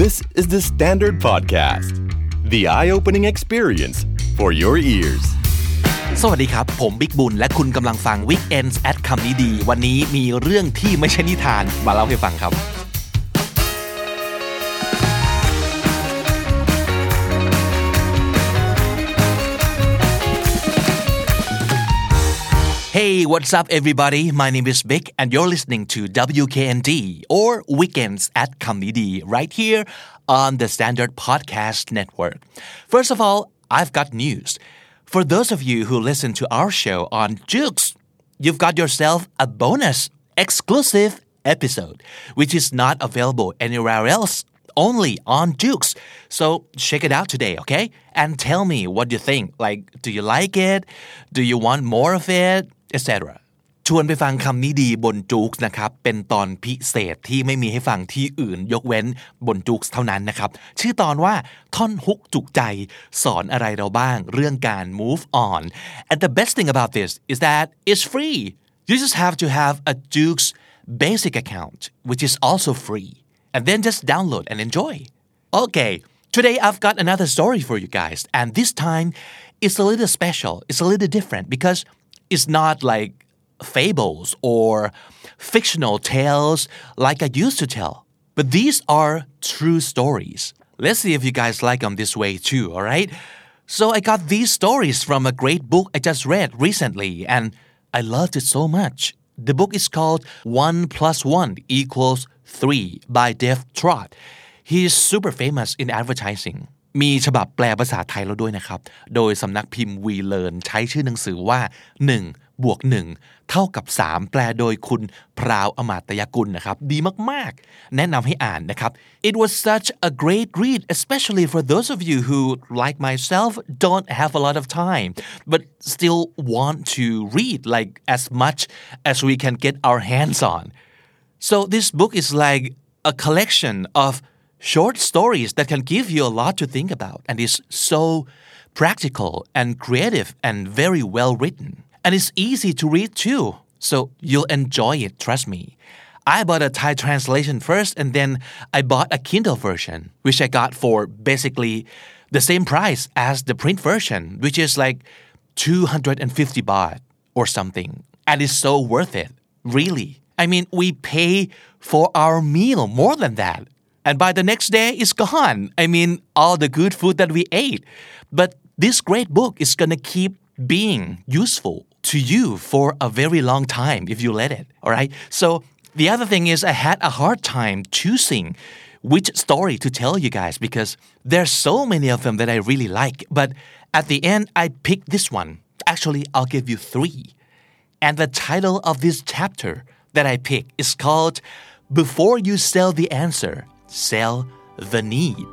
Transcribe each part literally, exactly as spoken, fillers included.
This is the Standard Podcast, the eye-opening experience for your ears. สวัสดีครับผมบิ๊กบุญและคุณกำลังฟัง Weekends at คำนี้ดีวันนี้มีเรื่องที่ไม่ใช่นิทานมาเล่าให้ฟังครับ Hey, what's up everybody? My name is Vic and you're listening to W K N D or Weekends at คำนี้ดี right here on the Standard Podcast Network. First of all, I've got news.For those of you who listen to our show on Joox, you've got yourself a bonus, exclusive episode, which is not available anywhere else, only on Joox. So check it out today, okay? And tell me what you think. Like, do you like it? Do you want more of it? et cetera. ชวนไปฟังคำนี้ดีบน Joox นะครับเป็นตอนพิเศษที่ไม่มีให้ฟังที่อื่นยกเว้นบน Joox เท่านั้นนะครับชื่อตอนว่าท่อนฮุกจุกใจสอนอะไรเราบ้างเรื่องการ move on and the best thing about this is that it's free you just have to have a Joox basic account which is also free and then just download and enjoy okay today I've got another story for you guys and this time it's a little special it's a little different because it's not like fables or fictional tales like I used to tell. But these are true stories. Let's see if you guys like them this way too, alright? So I got these stories from a great book I just read recently and I loved it so much. The book is called One Plus One Equals Three by Dev Trott. He is super famous in advertising.มีฉบับแปลภาษาไทยแล้วด้วยนะครับโดยสำนักพิมพ์ We Learn ใช้ชื่อหนังสือว่าหนึ่งบวกหนึ่งเท่ากับสามแปลโดยคุณพราวอมาตยกุลนะครับดีมากๆแนะนำให้อ่านนะครับ It was such a great read especially for those of you who like myself don't have a lot of time but still want to read like as much as we can get our hands on so this book is like a collection of short stories that can give you a lot to think about and is so practical and creative and very well written and it's easy to read too so you'll enjoy it trust me I bought a Thai translation first and then I bought a Kindle version which I got for basically the same price as the print version which is like two hundred fifty baht or something and it's so worth it really I mean we pay for our meal more than that And by the next day, it's gone. I mean, all the good food that we ate. But this great book is going to keep being useful to you for a very long time if you let it. All right? So the other thing is I had a hard time choosing which story to tell you guys because there's so many of them that I really like. But at the end, I picked this one. Actually, I'll give you three. And the title of this chapter that I picked is called Before You Sell the Answer,Sell the need.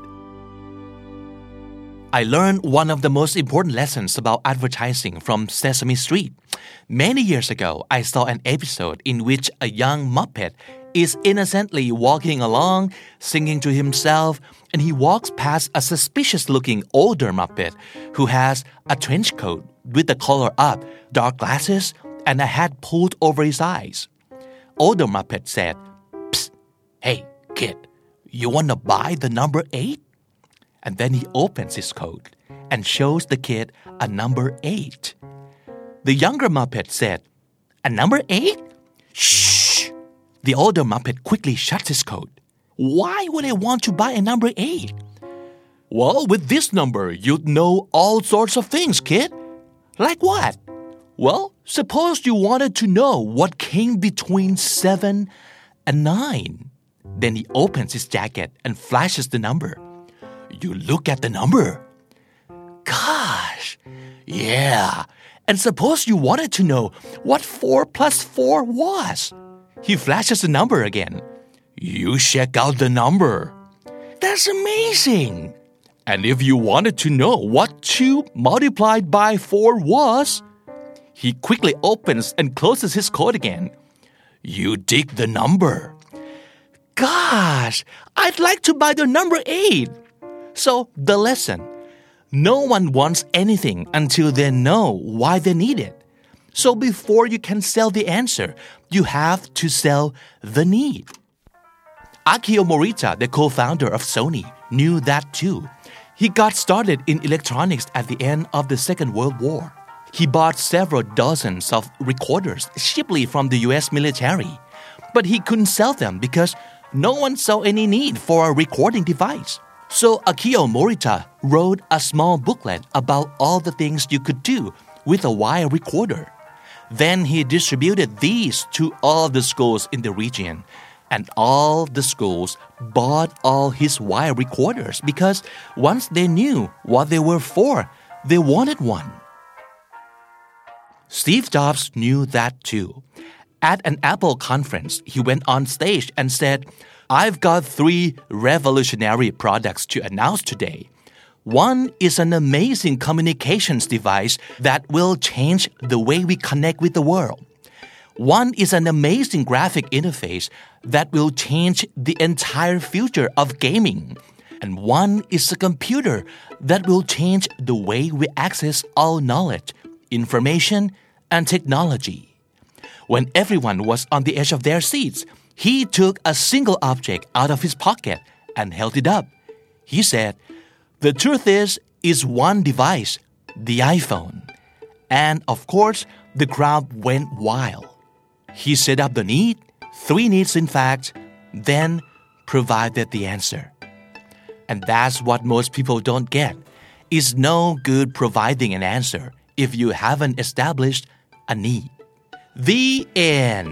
I learned one of the most important lessons about advertising from Sesame Street. Many years ago, I saw an episode in which a young Muppet is innocently walking along, singing to himself, and he walks past a suspicious-looking older Muppet who has a trench coat with the collar up, dark glasses, and a hat pulled over his eyes. Older Muppet said, "Psst, hey, kid.You want to buy the number eight? And then he opens his coat and shows the kid a number eight. The younger Muppet said, a number eight? Shh! The older Muppet quickly shuts his coat. Why would I want to buy a number eight? Well, with this number, you'd know all sorts of things, kid. Like what? Well, suppose you wanted to know what came between seven and nine.Then he opens his jacket and flashes the number. You look at the number. Gosh, yeah. And suppose you wanted to know what four plus four was. He flashes the number again. You check out the number. That's amazing. And if you wanted to know what two multiplied by four was, he quickly opens and closes his coat again. You dig the number.Gosh, I'd like to buy the number eight. So, the lesson. No one wants anything until they know why they need it. So, before you can sell the answer, you have to sell the need. Akio Morita, the co-founder of Sony, knew that too. He got started in electronics at the end of the Second World War. He bought several dozens of recorders cheaply from the U S military, but he couldn't sell them because no one saw any need for a recording device. So Akio Morita wrote a small booklet about all the things you could do with a wire recorder. Then he distributed these to all the schools in the region, and all the schools bought all his wire recorders because once they knew what they were for, they wanted one. Steve Jobs knew that too. At an Apple conference, he went on stage and said, I've got three revolutionary products to announce today. One is an amazing communications device that will change the way we connect with the world. One is an amazing graphic interface that will change the entire future of gaming. And one is a computer that will change the way we access all knowledge, information, and technology. When everyone was on the edge of their seats, he took a single object out of his pocket and held it up. He said, The truth is, is one device, the iPhone. And of course, the crowd went wild. He set up the need, three needs in fact, then provided the answer. And that's what most people don't get. It's no good providing an answer if you haven't established a need. The end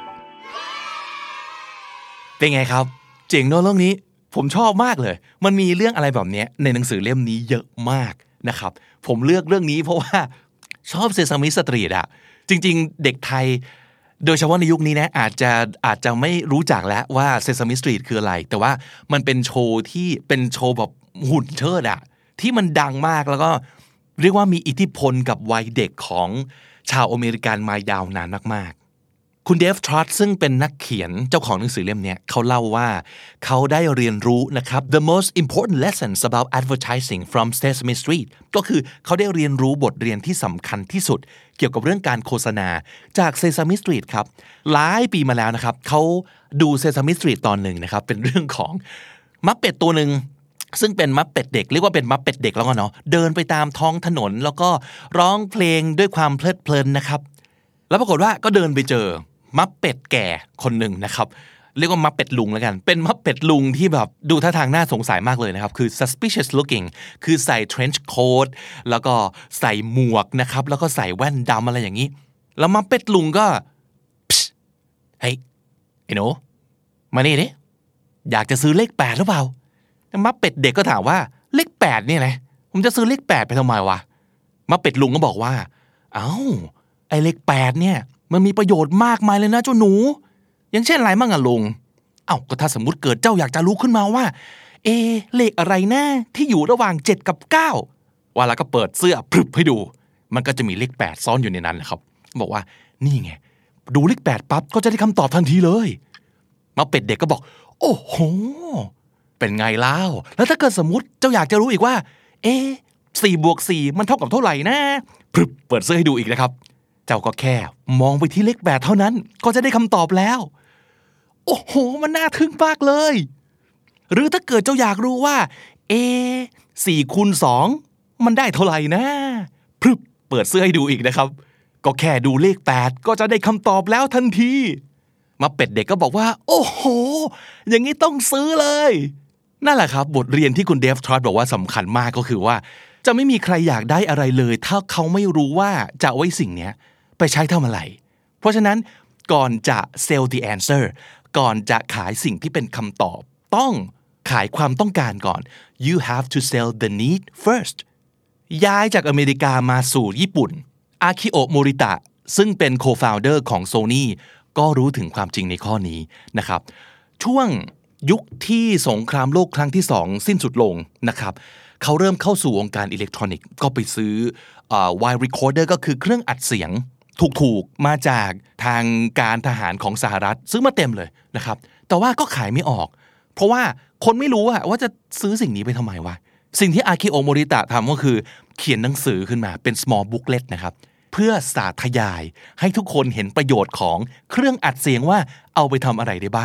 เป็นไงครับเจ๋งเนอะเรื่องนี้ผมชอบมากเลยมันมีเรื่องอะไรแบบนี้ในหนังสือเล่มนี้เยอะมากนะครับผมเลือกเรื่องนี้เพราะว่าชอบเซซามิสตรีทอะจริงๆเด็กไทยโดยเฉพาะในยุคนี้นะอาจจะอาจจะไม่รู้จักแล้วว่าเซซามิสตรีทคืออะไรแต่ว่ามันเป็นโชว์ที่เป็นโชว์แบบหุ่นเชิดอะที่มันดังมากแล้วก็เรียกว่ามีอิทธิพลกับวัยเด็กของชาวอเมริกันมายาวนานมากๆคุณเดฟทรอตซึ่งเป็นนักเขียนเจ้าของหนังสือเล่มนี้เขาเล่าว่าเขาได้เรียนรู้นะครับ the most important lessons about advertising from Sesame Street ก็คือเขาได้เรียนรู้บทเรียนที่สำคัญที่สุดเกี่ยวกับเรื่องการโฆษณาจาก Sesame Street ครับหลายปีมาแล้วนะครับเขาดู Sesame Street ตอนหนึ่งนะครับเป็นเรื่องของมัปเป็ดตัวหนึ่งซึ่งเป็นมัปเป็ดเด็กเรียกว่าเป็นมัปเป็ดเด็กแล้วกันเนาะเดินไปตามท้องถนนแล้วก็ร้องเพลงด้วยความเพลิดเพลินนะครับแล้วปรากฏว่าก็เดินไปเจอมัปเป็ดแก่คนหนึ่งนะครับเรียกว่ามัปเป็ดลุงแล้วกันเป็นมัปเป็ดลุงที่แบบดูท่าทางน่าสงสัยมากเลยนะครับคือ suspicious looking คือใส่ trench coat แล้วก็ใส่หมวกนะครับแล้วก็ใส่แว่นดำอะไรอย่างนี้แล้วมัปเป็ดลุงก็เฮ้ยไอ้หนูมานี่ดิอยากจะซื้อเลขแปดหรือเปล่ามัปเป็ดเด็กก็ถามว่าเลขแปดนี่แหละผมจะซื้อเลขแปดไปทำไมวะมัปเป็ดลุงก็บอกว่าเอ้าไอ้เลขแปดเนี่ยมันมีประโยชน์มากมายเลยนะเจ้าหนูอย่างเช่นอะไรมั่งอะลุงเอ้าก็ถ้าสมมุติเกิดเจ้าอยากจะรู้ขึ้นมาว่าเอเลขอะไรนะที่อยู่ระหว่างเจ็ดกับเก้าว่าแล้วก็เปิดเสื้อพรึบให้ดูมันก็จะมีเลขแปดซ่อนอยู่ในนั้นแหละครับบอกว่านี่ไงดูเลขแปดปั๊บก็จะได้คำตอบทันทีเลยมัปเป็ดเด็กก็บอกโอ้โหเป็นไงเล่าแล้วถ้าเกิดสมมุติเจ้าอยากจะรู้อีกว่าเอ๊ะสี่บวกสี่มันเท่ากับเท่าไหร่นะพรึบเปิดเสื้อให้ดูอีกนะครับเจ้าก็แค่มองไปที่เลขแปดเท่านั้นก็จะได้คำตอบแล้วโอ้โหมันน่าทึ่งมากเลยหรือถ้าเกิดเจ้าอยากรู้ว่าเอ๊ะสี่คูณสองมันได้เท่าไหร่นะพรึบเปิดเสื้อให้ดูอีกนะครับก็แค่ดูเลขแปดก็จะได้คำตอบแล้วทันทีมัปเป็ดเด็กก็บอกว่าโอ้โหอย่างนี้ต้องซื้อเลยนั่นแหละครับบทเรียนที่คุณเดฟทรอตบอกว่าสำคัญมากก็คือว่าจะไม่มีใครอยากได้อะไรเลยถ้าเขาไม่รู้ว่าจะเอาไว้สิ่งนี้ไปใช้ทำอะไรเพราะฉะนั้นก่อนจะ sell the answer ก่อนจะขายสิ่งที่เป็นคำตอบต้องขายความต้องการก่อน you have to sell the need first ย้ายจากอเมริกามาสู่ญี่ปุ่นอาคิโอะโมริตะซึ่งเป็น co-founder ของ Sony ก็รู้ถึงความจริงในข้อนี้นะครับช่วงยุคที่สงครามโลกครั้งที่สองสิ้นสุดลงนะครับเขาเริ่มเข้าสู่วงการอิเล็กทรอนิกส์ก็ไปซื้อเอ่อ wire recorder ก็คือเครื่องอัดเสียงถูกๆมาจากทางการทหารของสหรัฐซื้อมาเต็มเลยนะครับแต่ว่าก็ขายไม่ออกเพราะว่าคนไม่รู้ว่าจะซื้อสิ่งนี้ไปทำไมวะสิ่งที่อาคิโอะโมริตะทำก็คือเขียนหนังสือขึ้นมาเป็น small booklet นะครับเพื่อสาธยายให้ทุกคนเห็นประโยชน์ของเครื่องอัดเสียงว่าเอาไปทำอะไรได้บ้าง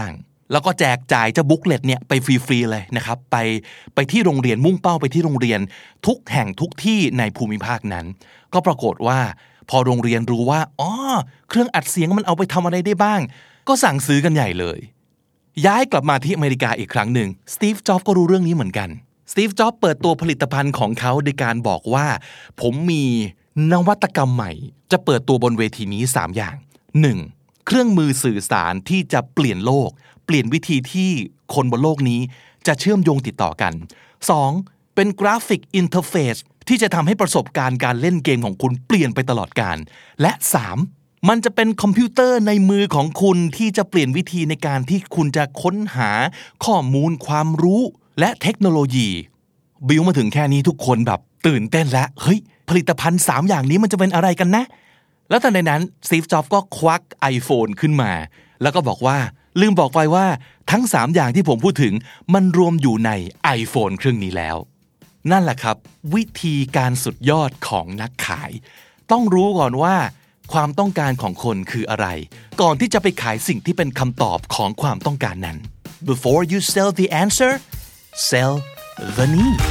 แล้วก็แจกจ่ายเจ้าบุ๊กเลตเนี่ยไปฟรีๆเลยนะครับไปไปที่โรงเรียนมุ่งเป้าไปที่โรงเรียนทุกแห่งทุกที่ในภูมิภาคนั้นก็ปรากฏว่าพอโรงเรียนรู้ว่าอ๋อเครื่องอัดเสียงมันเอาไปทำอะไรได้บ้างก็สั่งซื้อกันใหญ่เลยย้ายกลับมาที่อเมริกาอีกครั้งหนึ่งสตีฟจ็อบส์ก็รู้เรื่องนี้เหมือนกันสตีฟจ็อบส์เปิดตัวผลิตภัณฑ์ของเขาโดยการบอกว่าผมมีนวัตกรรมใหม่จะเปิดตัวบนเวทีนี้สามอย่าง หนึ่ง. เครื่องมือสื่อสารที่จะเปลี่ยนโลกเปลี่ยนวิธีที่คนบนโลกนี้จะเชื่อมโยงติดต่อกัน สอง. เป็นกราฟิกอินเทอร์เฟซที่จะทำให้ประสบการณ์การเล่นเกมของคุณเปลี่ยนไปตลอดกาลและ สาม. มันจะเป็นคอมพิวเตอร์ในมือของคุณที่จะเปลี่ยนวิธีในการที่คุณจะค้นหาข้อมูลความรู้และเทคโนโลยีบิวมาถึงแค่นี้ทุกคนแบบตื่นเต้นแล้วเฮ้ยผลิตภัณฑ์สามอย่างนี้มันจะเป็นอะไรกันนะแล้วตอนนั้นสตีฟจ็อบส์ก็ควัก iPhone ขึ้นมาแล้วก็บอกว่าลืมบอกไปว่าทั้งสามอย่างที่ผมพูดถึงมันรวมอยู่ใน iPhone เครื่องนี้แล้วนั่นแหละครับวิธีการสุดยอดของนักขายต้องรู้ก่อนว่าความต้องการของคนคืออะไรก่อนที่จะไปขายสิ่งที่เป็นคำตอบของความต้องการนั้น Before you sell the answer sell the need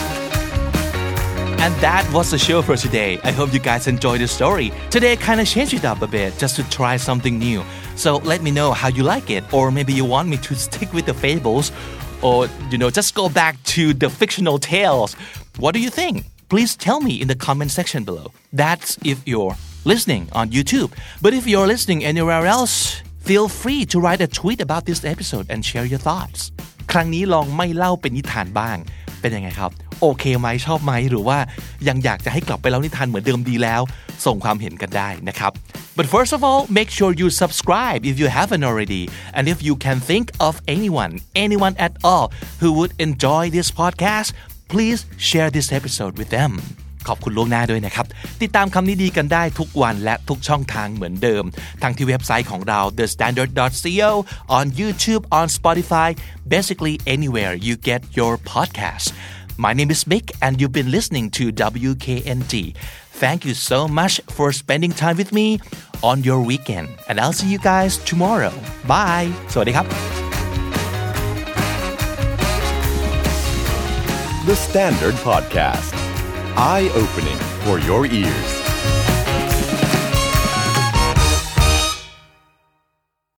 And that was the show for today. I hope you guys enjoyed the story. Today I kind of changed it up a bit just to try something new. So let me know how you like it, or maybe you want me to stick with the fables, or you know, just go back to the fictional tales. What do you think? Please tell me in the comment section below. That's if you're listening on YouTube. But if you're listening anywhere else, feel free to write a tweet about this episode and share your thoughts. ครั้งนี้ลองไม่เล่าเป็นนิทานบ้างเป็นยังไงครับโอเคไหมชอบไหมหรือว่ายังอยากจะให้กลับไปเล่านิทานเหมือนเดิมดีแล้วส่งความเห็นกันได้นะครับ But first of all make sure you subscribe if you haven't already and if you can think of anyone anyone at all who would enjoy this podcast please share this episode with them ขอบคุณล่วงหน้าด้วยนะครับติดตามคำนี้ดีกันได้ทุกวันและทุกช่องทางเหมือนเดิมทั้งที่เว็บไซต์ของเรา the standard dot co on YouTube on Spotify basically anywhere you get your podcasts My name is Mick and you've been listening to W K N D Thank you so much for spending time with me on your weekend and I'll see you guys tomorrow Bye สวัสดีครับ The Standard Podcast Eye-opening for your ears